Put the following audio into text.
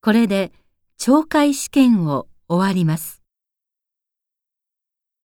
これで懲戒試験を終わります。